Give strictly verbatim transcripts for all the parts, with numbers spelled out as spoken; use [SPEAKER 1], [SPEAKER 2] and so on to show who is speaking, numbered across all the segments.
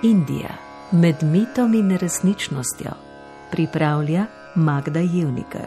[SPEAKER 1] Indija med mitom in resničnostjo pripravlja Magda Jevnikar.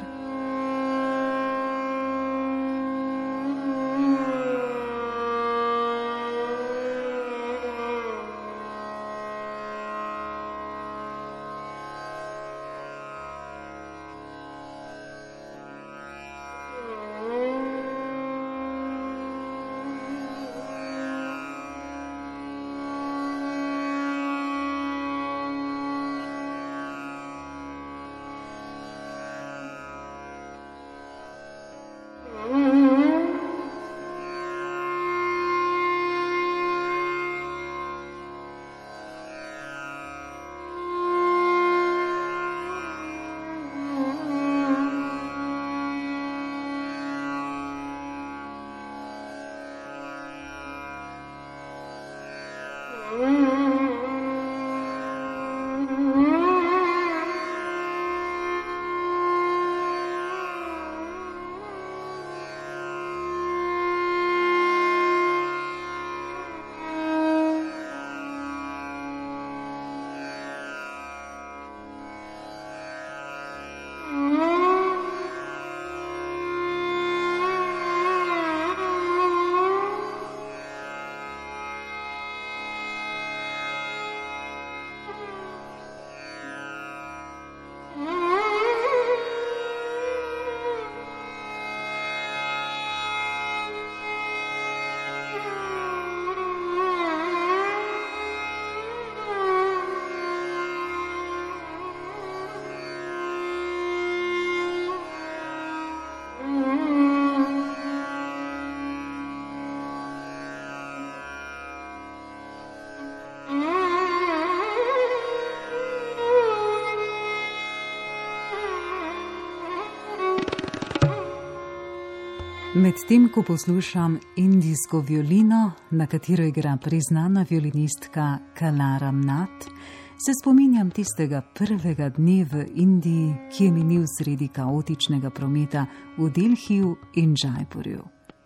[SPEAKER 2] Medtem, ko poslušam indijsko violino, na katero igra priznana violinistka Kala Ramnath, se spominjam tistega prvega dne v Indiji, ki je minil sredi kaotičnega prometa v Delhiju in Džajpurju.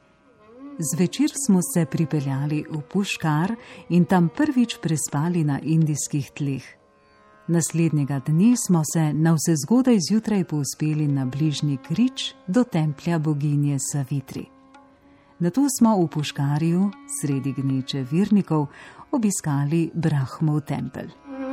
[SPEAKER 2] Zvečer smo se pripeljali v Puškar in tam prvič prespali na indijskih tleh. Naslednjega dne smo se navsezgodaj zjutraj povzpeli na bližnji Krič do templja boginje Savitri. Nato smo v Puškarju, sredi gneče virnikov, obiskali Brahmov tempelj.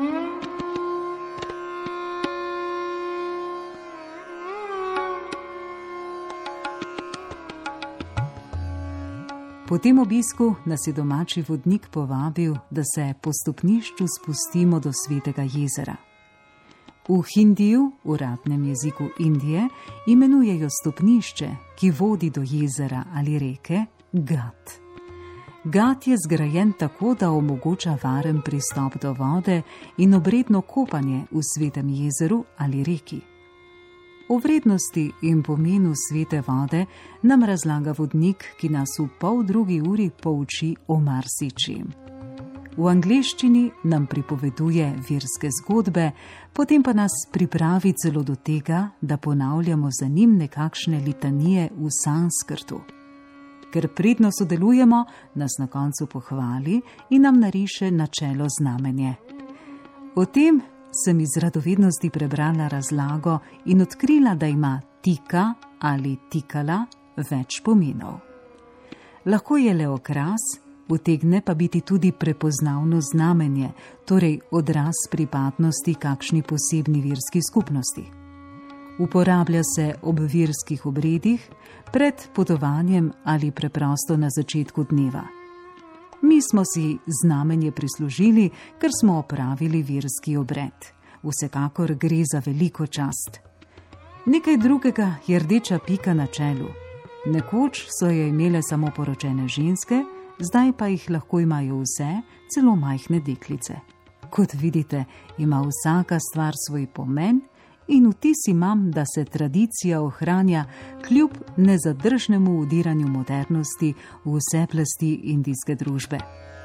[SPEAKER 2] Po tem obisku nas je domači vodnik povabil, da se po stopnišču spustimo do Svetega jezera. V hindiju, uradnem jeziku Indije, imenujejo stopnišče, ki vodi do jezera ali reke, gat. Gat je zgrajen tako, da omogoča varen pristop do vode in obredno kopanje v Svetem jezeru ali reki. O vrednosti in pomenu svete vode nam razlaga vodnik, ki nas v pol drugi uri pouči o marsičem. V angleščini nam pripoveduje verske zgodbe, potem pa nas pripravi celo do tega, da ponavljamo za njim nekakšne litanije v sanskrtu. Ker pridno sodelujemo, nas na koncu pohvali in nam nariše načelo znamenje. O tem sem iz radovednosti prebrala razlago in odkrila, da ima tika ali tikala več pomenov. Lahko je le okras, utegne pa biti tudi prepoznavno znamenje, torej odraz pripadnosti kakšni posebni verski skupnosti. Uporablja se ob verskih obredih, pred potovanjem ali preprosto na začetku dneva. Mi smo si znamenje prislužili, ker smo opravili verski obred. Vsekakor gre za veliko čast. Nekaj drugega je rdeča pika na čelu. Nekoč so jo imele samo poročene ženske, zdaj pa jih lahko imajo vse, celo majhne deklice. Kot vidite, ima vsaka stvar svoj pomen in vtis imam, da se tradicija ohranja kljub nezadržnemu vdiranju modernosti v vse plasti indijske družbe.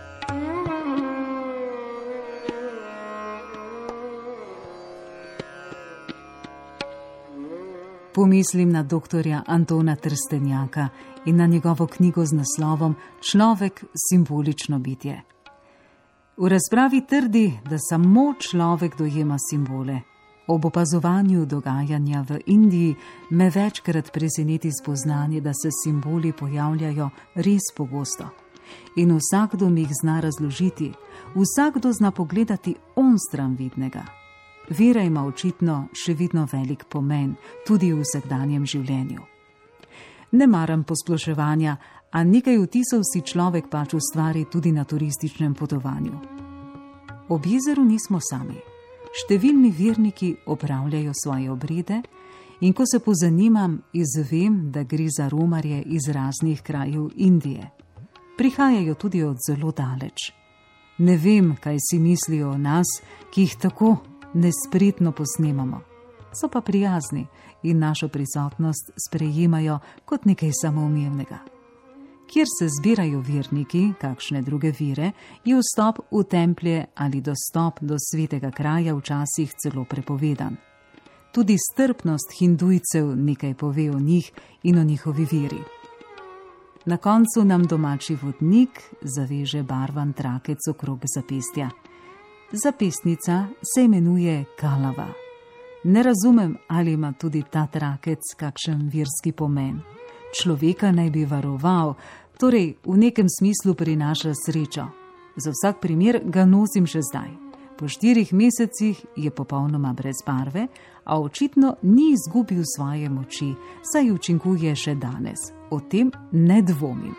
[SPEAKER 2] Pomislim na doktorja Antona Trstenjaka in na njegovo knjigo z naslovom Človek, simbolično bitje. V razpravi trdi, da samo človek dojema simbole. Ob opazovanju dogajanja v Indiji me večkrat preseneti spoznanje, da se simboli pojavljajo res pogosto. In vsakdo mi jih zna razložiti, vsakdo zna pogledati onstran vidnega. Vera ima očitno še vedno velik pomen, tudi v vsakdanjem življenju. Ne maram posploševanja, a nekaj vtisov si človek pač ustvari tudi na turističnem potovanju. Ob jezeru nismo sami. Številni verniki opravljajo svoje obrede in ko se pozanimam, izvem, da gre za romarje iz raznih krajev Indije. Prihajajo tudi od zelo daleč. Ne vem, kaj si mislijo o nas, ki jih tako nespretno posnemamo. So pa prijazni in našo prisotnost sprejemajo kot nekaj samoumevnega. Kjer se zbirajo verniki, kakšne druge vere, je vstop v templje ali dostop do svetega kraja včasih celo prepovedan. Tudi strpnost hindujcev nekaj pove o njih in o njihovi veri. Na koncu nam domači vodnik zaveže barvan trakec okrog zapestja. Zapestnica se imenuje kalava. Ne razumem, ali ima tudi ta trakec kakšen verski pomen. Človeka naj bi varoval, torej v nekem smislu prinaša srečo. Za vsak primer ga nosim še zdaj. Po štirih mesecih je popolnoma brez barve, a očitno ni izgubil svoje moči, saj učinkuje še danes. O tem ne dvomim.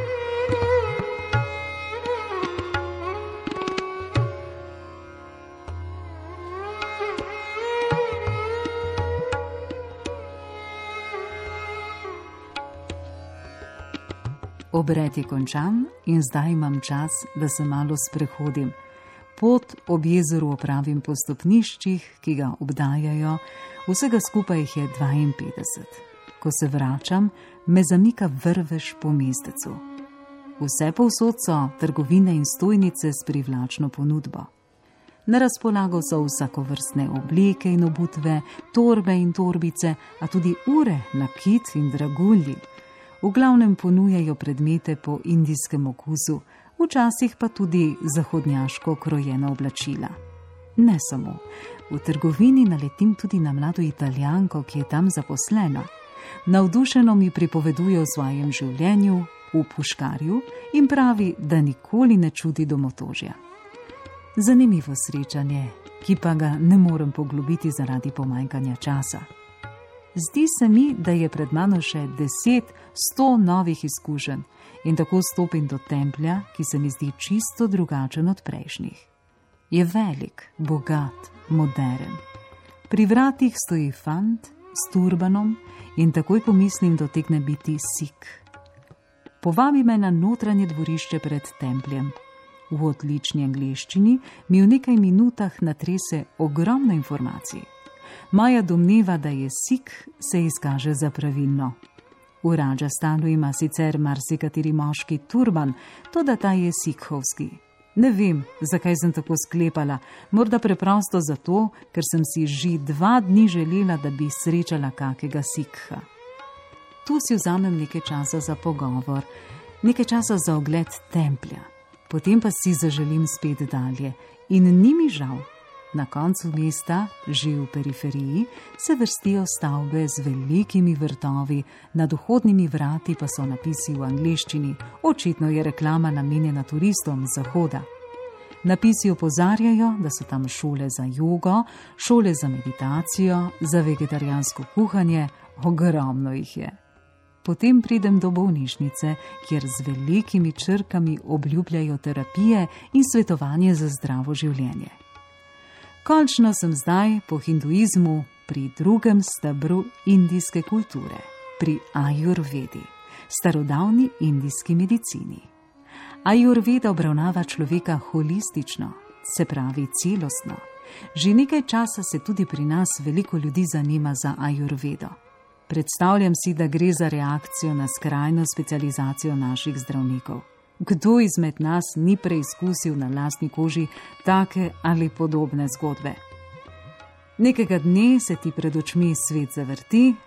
[SPEAKER 2] Obred je končan in zdaj imam čas, da se malo sprehodim. Pot ob jezeru opravim po stopniščih, ki ga obdajajo, vsega skupaj jih je dvainpetdeset. Ko se vračam, me zamika vrvež po mestecu. Vse povsod so trgovine in stojnice s privlačno ponudbo. Na razpolago so vsakovrstne obleke in obutve, torbe in torbice, a tudi ure, nakit in dragulji. V glavnem ponujajo predmete po indijskem okusu, včasih pa tudi zahodnjaško krojena oblačila. Ne samo. V trgovini naletim tudi na mlado Italijanko, ki je tam zaposlena. Navdušeno mi pripoveduje o svojem življenju v puškarju in pravi, da nikoli ne čuti domotožja. Zanimivo srečanje, ki pa ga ne morem poglobiti zaradi pomanjkanja časa. Zdi se mi, da je pred mano še deset, sto novih izkušenj in tako stopim do templja, ki se mi zdi čisto drugačen od prejšnjih. Je velik, bogat, moderen. Pri vratih stoji fant s turbanom in takoj pomislim, da utegne biti Sikh. Povabi me na notranje dvorišče pred templjem. V odlični angleščini mi v nekaj minutah natrese ogromno informacij. Moja domneva, da je Sikh, se izkaže za pravilno. V Radžastanu ima sicer marsikateri moški turban, toda ta je sikhovski. Ne vem, zakaj sem tako sklepala, morda preprosto zato, ker sem si že dva dni želela, da bi srečala kakega Sikha. Tu si vzamem nekaj časa za pogovor, nekaj časa za ogled templja, potem pa si zaželim spet dalje in ni mi žal. Na koncu mesta, že v periferiji, se vrstijo stavbe z velikimi vrtovi, nad vhodnimi vrati pa so napisi v angleščini, očitno je reklama namenjena turistom z zahoda. Napisi opozarjajo, da so tam šole za jogo, šole za meditacijo, za vegetarijansko kuhanje, ogromno jih je. Potem pridem do bolnišnice, kjer z velikimi črkami obljubljajo terapije in svetovanje za zdravo življenje. Končno sem zdaj po hinduizmu pri drugem stebru indijske kulture, pri ajurvedi, starodavni indijski medicini. Ajurveda obravnava človeka holistično, se pravi celostno. Že nekaj časa se tudi pri nas veliko ljudi zanima za ajurvedo. Predstavljam si, da gre za reakcijo na skrajno specializacijo naših zdravnikov. Kdo izmed nas ni preizkusil na lastni koži take ali podobne zgodbe? Nekega dne se ti pred očmi svet zavrti,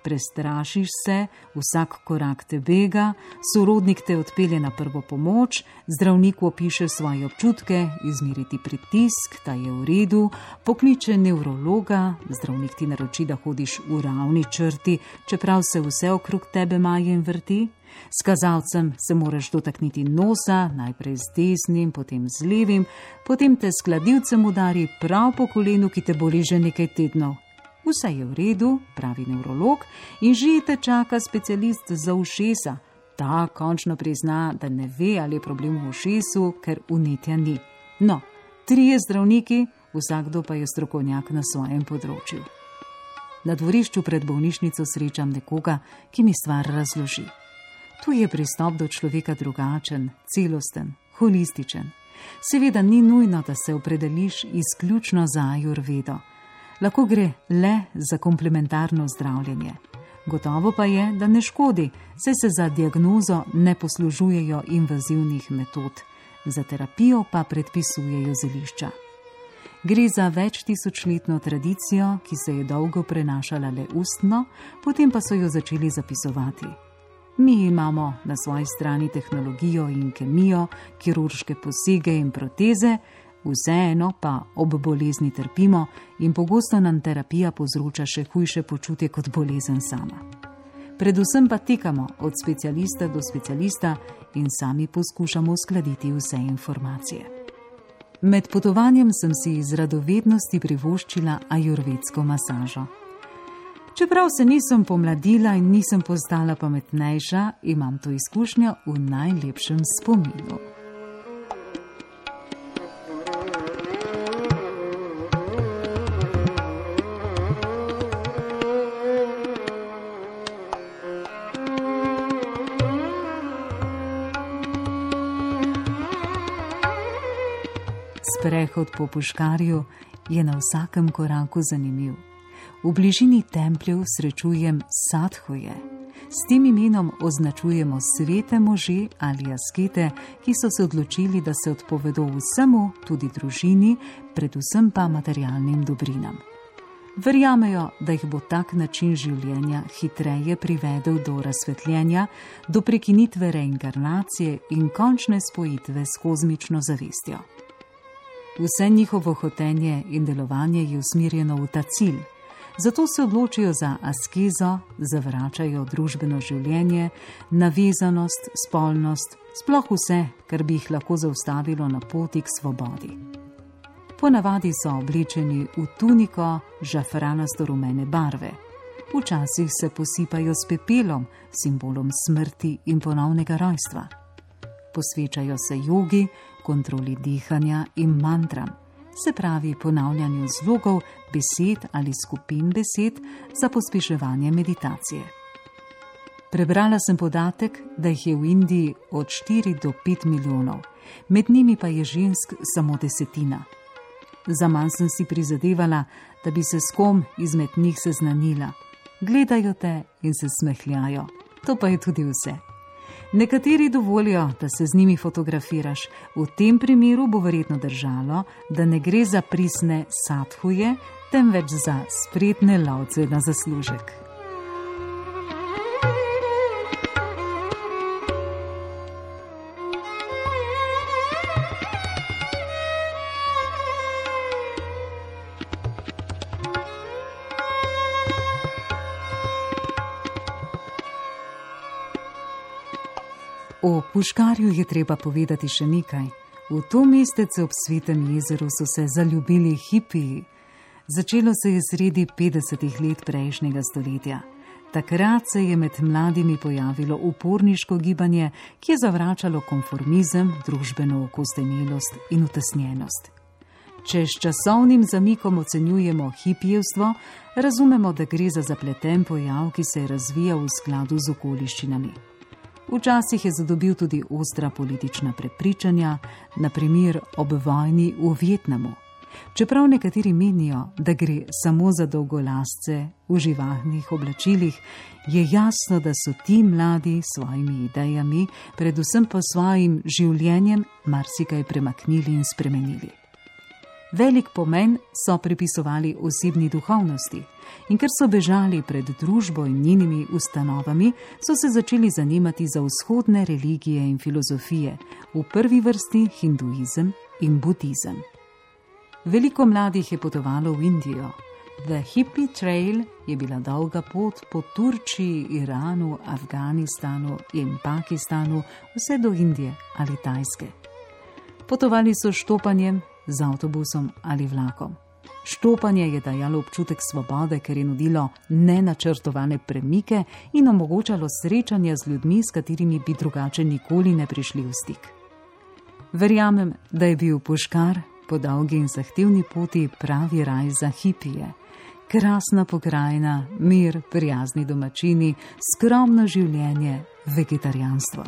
[SPEAKER 2] prestrašiš se, vsak korak te bega, sorodnik te odpelje na prvo pomoč, zdravniku opiše svoje občutke, izmeri ti pritisk, ta je v redu, pokliče nevrologa, zdravnik ti naroči, da hodiš v ravni črti, čeprav se vse okrog tebe maje in vrti. S kazalcem se moraš dotakniti nosa, najprej z desnim, potem z levim, potem te s kladivcem udari prav po kolenu, ki te boli že nekaj tednov. Vse je v redu, pravi nevrolog, in že te čaka specialist za ušesa. Ta končno prizna, da ne ve, ali je problem v ušesu, ker vnetja ni. No, trije zdravniki, vsakdo pa je strokovnjak na svojem področju. Na dvorišču pred bolnišnico srečam nekoga, ki mi stvar razloži. Tu je pristop do človeka drugačen, celosten, holističen. Seveda ni nujno, da se opredeliš izključno za ajurvedo. Lahko gre le za komplementarno zdravljenje. Gotovo pa je, da ne škodi, saj se za diagnozo ne poslužujejo invazivnih metod, za terapijo pa predpisujejo zelišča. Gre za več tisočletno tradicijo, ki se je dolgo prenašala le ustno, potem pa so jo začeli zapisovati. Mi imamo na svoji strani tehnologijo in kemijo, kirurške posege in proteze, vseeno pa ob bolezni trpimo in pogosto nam terapija povzroča še hujše počutje kot bolezen sama. Predvsem pa tekamo od specialista do specialista in sami poskušamo uskladiti vse informacije. Med potovanjem sem si iz radovednosti privoščila ajurvedsko masažo. Čeprav se nisem pomladila in nisem postala pametnejša, imam to izkušnjo v najlepšem spominu. Sprehod po Puškarju je na vsakem koraku zanimiv. V bližini templjev srečujem sadhuje. S tem imenom označujemo svete može ali askete, ki so se odločili, da se odpovedo vsemu, tudi družini, predvsem pa materialnim dobrinam. Verjamejo, da jih bo tak način življenja hitreje privedel do razsvetljenja, do prekinitve reinkarnacije in končne spojitve s kozmično zavestjo. Vse njihovo hotenje in delovanje je usmerjeno v ta cilj. Zato se odločijo za askezo, zavračajo družbeno življenje, navezanost, spolnost, sploh vse, kar bi jih lahko zaustavilo na poti k svobodi. Ponavadi so oblečeni v tuniko žafranasto-rumene barve. Včasih se posipajo s pepelom, simbolom smrti in ponovnega rojstva. Posvečajo se jogi, kontroli dihanja in mantram, se pravi ponavljanju zlogov, besed ali skupin besed za pospeševanje meditacije. Prebrala sem podatek, da jih je v Indiji od štiri do pet milijonov, med njimi pa je žensk samo desetina. Zaman sem si prizadevala, da bi se s kom izmed njih seznanila. Gledajo te in se smehljajo. To pa je tudi vse. Nekateri dovolijo, da se z njimi fotografiraš. V tem primeru bo verjetno držalo, da ne gre za pristne sadhuje, temveč za spretne lovce na zaslužek. O Puškarju je treba povedati še nekaj. V to mestece ob Svetem jezeru so se zaljubili hipiji. Začelo se je sredi petdesetih let prejšnjega stoletja. Takrat se je med mladimi pojavilo uporniško gibanje, ki je zavračalo konformizem, družbeno okostenelost in utesnjenost. Če s časovnim zamikom ocenjujemo hipijevstvo, razumemo, da gre za zapleten pojav, ki se je razvijal v skladu z okoliščinami. Včasih je zadobil tudi ostra politična prepričanja, na primer ob vojni v Vietnamu. Čeprav nekateri menijo, da gre samo za dolgolasce v živahnih oblačilih, je jasno, da so ti mladi s svojimi idejami, predvsem pa svojim življenjem, marsikaj premaknili in spremenili. Velik pomen so pripisovali osebni duhovnosti in ker so bežali pred družbo in njenimi ustanovami, so se začeli zanimati za vzhodne religije in filozofije, v prvi vrsti hinduizem in budizem. Veliko mladih je potovalo v Indijo. The Hippie Trail je bila dolga pot po Turčiji, Iranu, Afganistanu in Pakistanu, vse do Indije ali Tajske. Potovali so štopanjem, z avtobusom ali vlakom. Štopanje je dajalo občutek svobode, ker je nudilo nenačrtovane premike in omogočalo srečanja z ljudmi, s katerimi bi drugače nikoli ne prišli v stik. Verjamem, da je bil Puškar po dolgi in zahtevni poti pravi raj za hipije. Krasna pokrajina, mir, prijazni domačini, skromno življenje, vegetarijanstvo.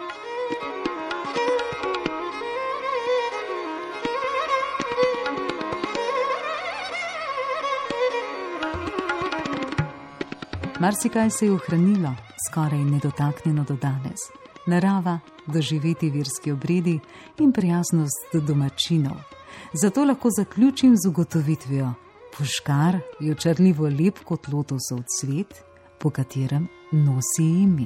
[SPEAKER 2] Marsikaj se je ohranilo, skoraj nedotaknjeno do danes. Narava, doživeti verski obredi in prijaznost domačinov. Zato lahko zaključim z ugotovitvijo: Puškar je očarljivo lep kot lotosov cvet, po katerem nosi ime.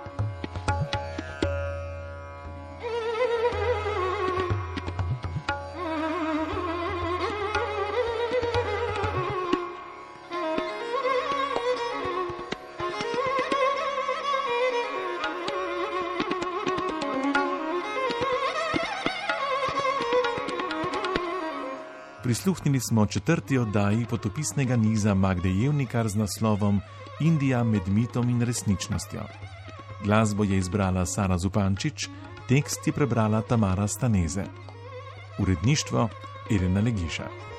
[SPEAKER 3] Prisluhnili smo četrti oddaji potopisnega niza Magde Jevnikar z naslovom Indija med mitom in resničnostjo. Glasbo je izbrala Sara Zupančič, tekst je prebrala Tamara Staneze. Uredništvo Elena Legiša.